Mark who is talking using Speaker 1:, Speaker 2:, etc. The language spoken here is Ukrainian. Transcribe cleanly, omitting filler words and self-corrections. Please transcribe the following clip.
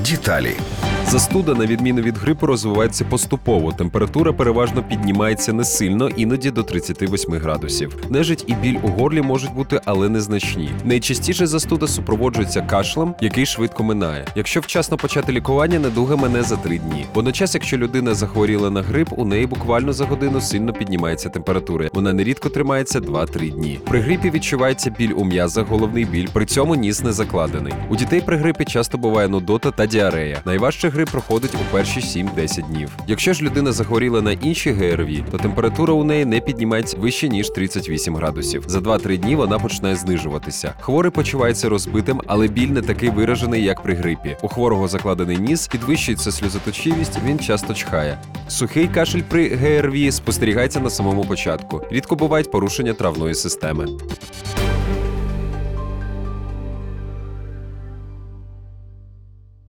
Speaker 1: Деталі.
Speaker 2: Застуда, на відміну від грипу, розвивається поступово. Температура переважно піднімається не сильно, іноді до 38 градусів. Нежить і біль у горлі можуть бути, але незначні. Найчастіше застуда супроводжується кашлем, який швидко минає. Якщо вчасно почати лікування, недуга мине за 3 дні. Водночас, якщо людина захворіла на грип, у неї буквально за годину сильно піднімається температура. Вона нерідко тримається 2-3 дні. При грипі відчувається біль у м'язах, головний біль, при цьому ніс не закладений. У дітей при грипі часто буває нудота та діарея. Найважче грип проходить у перші 7-10 днів. Якщо ж людина захворіла на інші ГРВІ, то температура у неї не піднімається вище, ніж 38 градусів. За 2-3 дні вона починає знижуватися. Хворий почувається розбитим, але біль не такий виражений, як при грипі. У хворого закладений ніс, підвищується сльозоточивість, він часто чхає. Сухий кашель при ГРВІ спостерігається на самому початку. Рідко бувають порушення травної системи.